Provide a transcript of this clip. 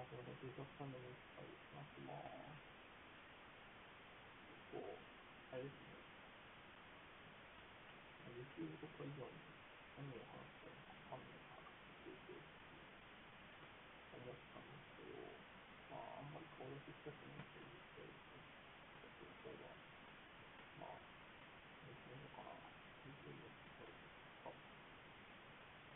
すいません、警察官のニュースから話します。あれですね、野球とか以外に何を話したらいいのかわかんないなっていうふうに思ったんですけど、あんまり顔出ししたくないというかです